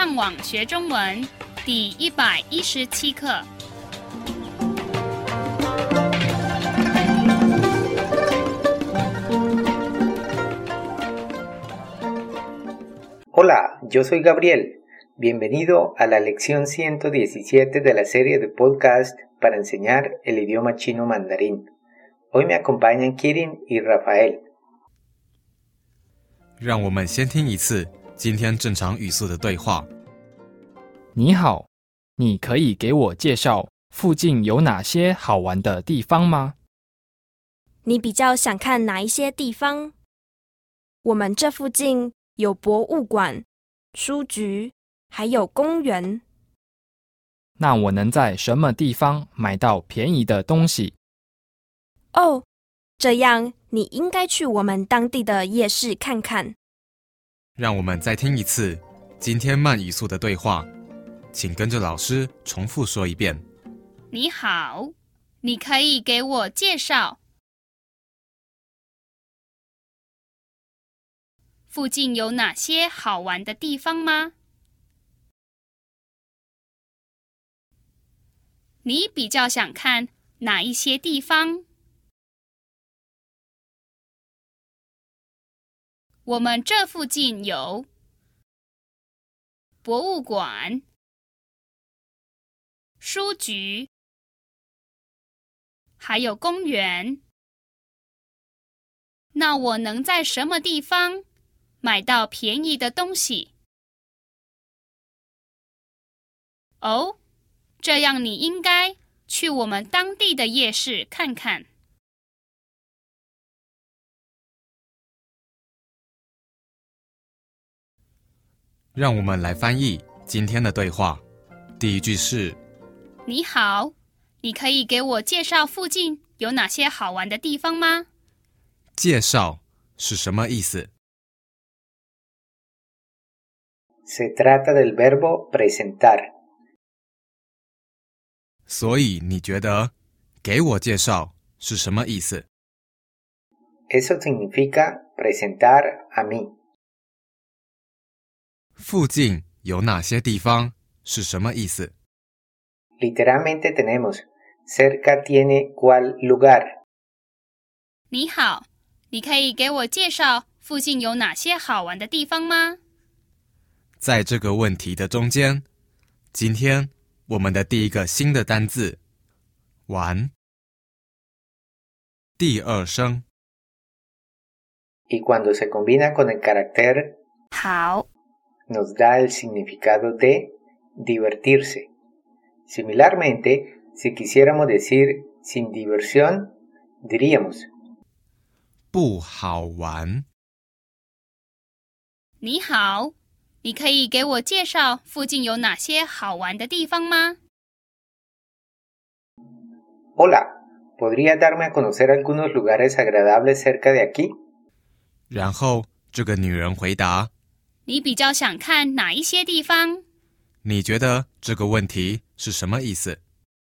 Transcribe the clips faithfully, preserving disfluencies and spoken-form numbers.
上网学中文第一百一十七课。 Hola, yo soy Gabriel. Bienvenido a la lección ciento diecisiete de la serie de podcast para enseñar el idioma chino mandarín. Hoy me acompañan Kirin y Rafael. 让我们先听一次今天正常语速的对话。 你好，你可以给我介绍附近有哪些好玩的地方吗？ 你比较想看哪一些地方？我们这附近有博物馆、书局，还有公园。 那我能在什么地方买到便宜的东西？ 哦，这样你应该去我们当地的夜市看看。 让我们再听一次今天慢语速的对话，请跟着老师重复说一遍。 你好，你可以给我介绍附近有哪些好玩的地方吗？你比较想看哪一些地方？我们这附近有博物馆、书局，还有公园。那我能在什么地方买到便宜的东西？哦，这样你应该去我们当地的夜市看看。 让我们来翻译今天的对话。第一句是： 你好，你可以给我介绍附近有哪些好玩的地方吗？ 介绍是什么意思？ Se trata del verbo presentar. 所以你觉得给我介绍是什么意思？ Eso significa presentar a mí. 附近有哪些地方是什么意思？ Literalmente tenemos cerca tiene cuál lugar. 你好，你可以给我介绍附近有哪些好玩的地方吗？ 在这个问题的中间，今天我们的第一个新的单字玩，第二声。 Y cuando se combina con el carácter 好 nos da el significado de divertirse. Similarmente, si quisiéramos decir sin diversión, diríamos 不好玩。 你好，你可以给我介绍附近有哪些好玩的地方吗？ Hola, ¿podría darme a conocer algunos lugares agradables cerca de aquí? 然后这个女人回答： 你比较想看哪一些地方？ 你觉得这个问题是什么意思？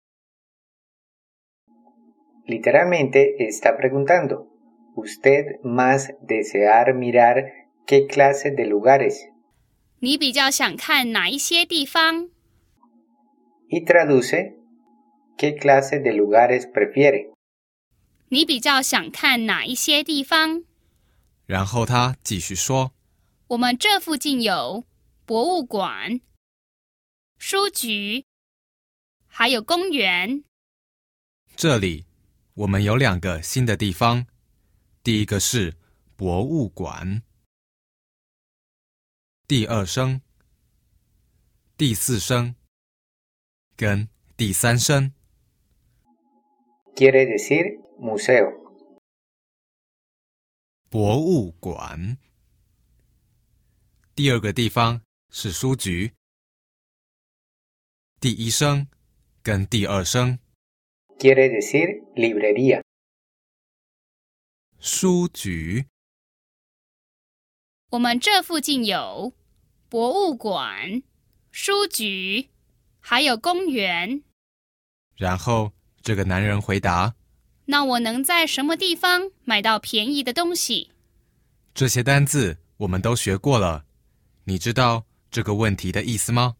Literalmente está preguntando, ¿usted más desear mirar qué clase de lugares? 你比较想看哪一些地方？ Y traduce, ¿qué clase de lugares prefiere? 你比较想看哪一些地方？ 然后他继续说： 我们这附近有博物馆、书局，还有公园。 这里我们有两个新的地方，第一个是博物馆，第二声、第四声跟第三声。 Quiere decir museo. 博物馆。第二个地方是书局，第一声跟第二声。 Quiere decir librería. 书局。 我们这附近有博物馆、书局，还有公园。 然后这个男人回答： 那我能在什么地方买到便宜的东西？ 这些单字我们都学过了，你知道这个问题的意思吗？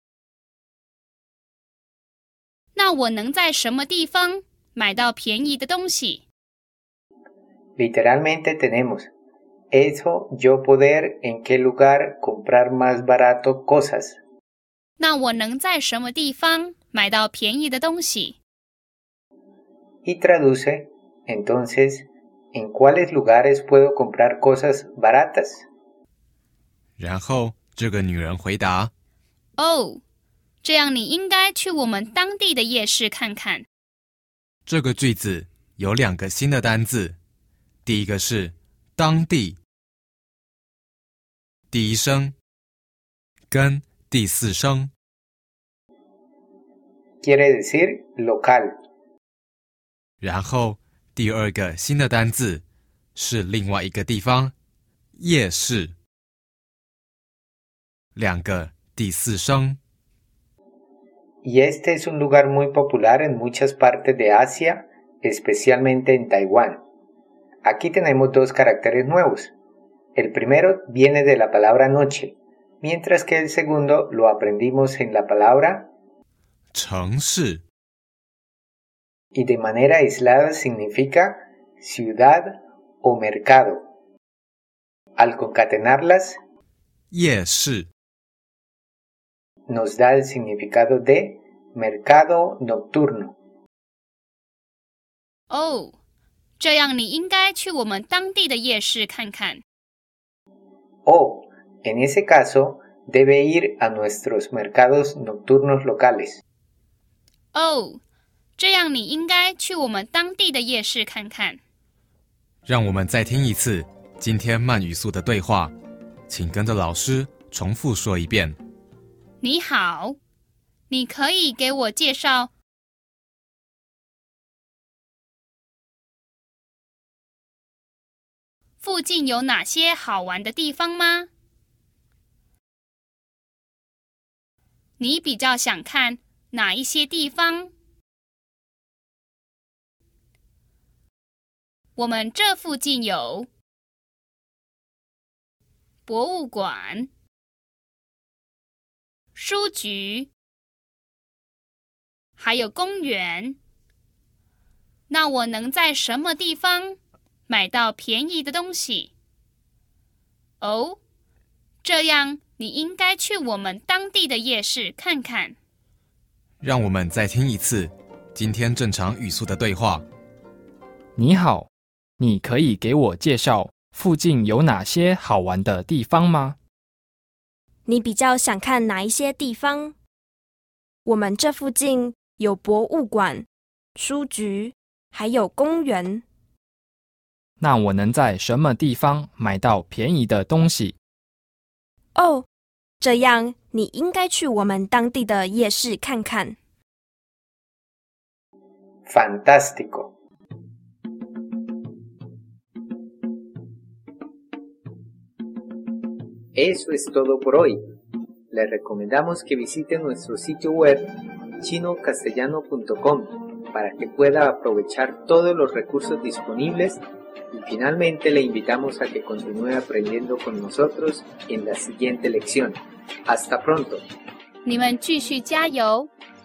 那我能在什么地方买到便宜的东西？ Literalmente tenemos eso yo poder en qué lugar comprar más barato cosas. 那我能在什么地方买到便宜的东西？ Y traduce, entonces, ¿en cuáles lugares puedo comprar cosas baratas? 然后这个女人回答： 哦，这样你应该去我们当地的夜市看看。 这个句子有两个新的单字，第一个是当地，第一声跟第四声。 Quiere decir local. 然后第二个新的单字是另外一个地方，夜市。两个第四声。 Y este es un lugar muy popular en muchas partes de Asia, especialmente en Taiwán. Aquí tenemos dos caracteres nuevos. El primero viene de la palabra noche, mientras que el segundo lo aprendimos en la palabra 城市。 y de manera aislada significa ciudad o mercado. Al concatenarlas, 夜市。 nos da el significado de mercado nocturno. 哦，这样你应该去我们当地的夜市看看。 O, en ese caso, debe ir a nuestros mercados nocturnos locales. 哦，这样你应该去我们当地的夜市看看。 让我们再听一次今天慢语速的对话，请跟着老师重复说一遍。 你好，你可以给我介绍附近有哪些好玩的地方吗？你比较想看哪一些地方？我们这附近有博物馆、书局，还有公园。那我能在什么地方买到便宜的东西？哦，这样你应该去我们当地的夜市看看。 让我们再听一次今天正常语速的对话。 你好，你可以给我介绍附近有哪些好玩的地方吗？ 你比较想看哪一些地方？我们这附近有博物馆、书局，还有公园。 那我能在什么地方买到便宜的东西？ 哦，这样你应该去我们当地的夜市看看。 Fantástico. Eso es todo por hoy. Les recomendamos que visiten nuestro sitio web chino castellano punto com para que pueda aprovechar todos los recursos disponibles y finalmente le invitamos a que continúe aprendiendo con nosotros en la siguiente lección. Hasta pronto. 你们继续加油。